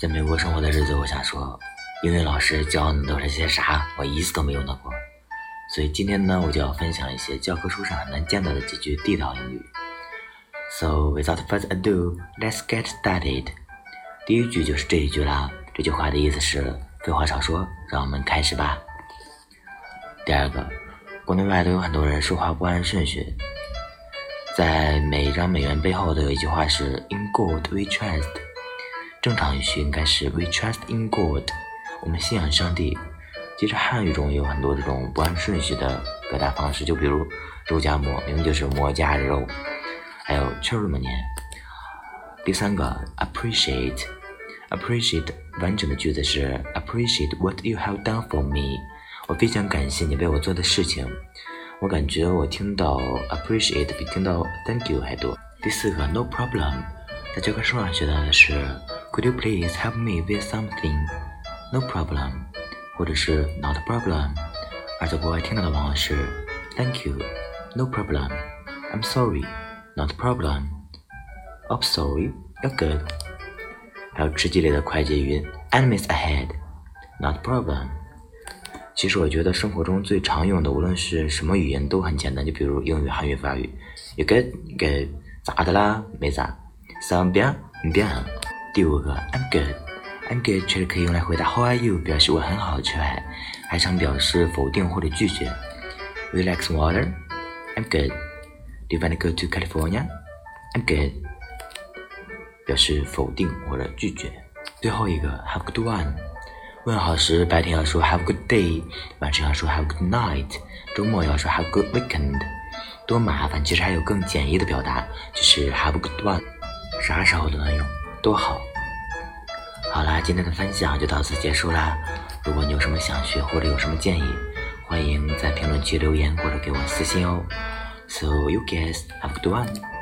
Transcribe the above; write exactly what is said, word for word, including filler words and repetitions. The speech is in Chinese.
在美国生活的日子，我想说，英语老师教的都是些啥，我一次都没用到过。所以今天呢，我就要分享一些教科书上很难见到的几句地道英语。So without further ado, let's get started. 第一句就是这一句啦，这句话的意思是废话少说，让我们开始吧。第二个，国内外都有很多人说话不按顺序，在每一张美元背后都有一句话是 In God we trust， 正常语序应该是 We trust in God， 我们信仰上帝。其实汉语中也有很多这种不按顺序的表达方式，就比如肉夹馍明明就是馍加肉，还有吃这么念。第三个 appreciate appreciate 完整的句子是 appreciate what you have done for me， 我非常感谢你为我做的事情。我感觉我听到 appreciate 比听到 thank you 还多。第四个 no problem， 在教科书上学到的是 Could you please help me with something？ No problem， 或者是 not a problem， 而在国外听到的往往是 Thank you， No problem， I'm sorry， Not a problem， Oh sorry， You're good。 还有吃鸡里的快捷语音 Enemies ahead， Not a problem。其实我觉得生活中最常用的无论是什么语言都很简单，就比如英语、韩语、法语。You good? Good。 咋的啦？没咋。怎bien？ bien。第五个 I'm good I'm good 确实可以用来回答 How are you， 表示我很好却还还常表示否定或者拒绝。 Would you like some water? I'm good。 Do you want to go to California? I'm good， 表示否定或者拒绝。最后一个 Have a good one，问好时白天要说 Have a good day， 晚上要说 Have a good night， 周末要说 Have a good weekend。 多麻烦，其实还有更简易的表达，就是 Have a good one， 啥时候都能用，多好。好啦，今天的分享就到此结束啦。如果你有什么想学或者有什么建议，欢迎在评论区留言或者给我私信哦。So you guys have a good one。